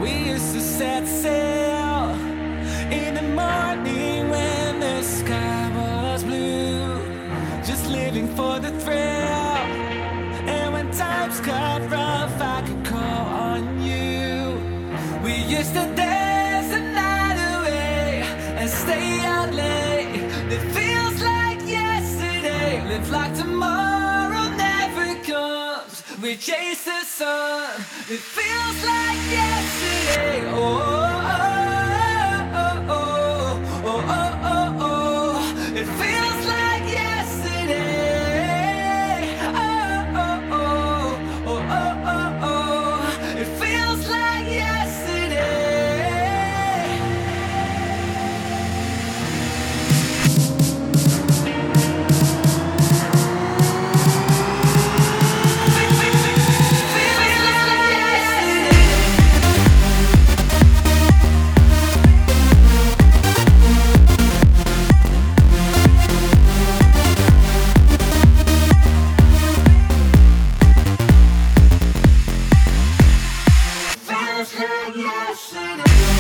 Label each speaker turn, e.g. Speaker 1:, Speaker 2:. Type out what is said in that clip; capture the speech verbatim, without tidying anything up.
Speaker 1: We used to set sail in the morning when the sky was blue, just living for the thrill. And when times got rough, I could call on you. We used to dance the night away and stay out late. It feels like yesterday, live like tomorrow never comes. We chase the sun, it feels like yesterday. Oh, oh, oh, oh, oh, oh, oh, oh. It feels like yesterday. Oh, oh, oh, oh, oh, oh, oh. It feels like yesterday. Feels like yesterday.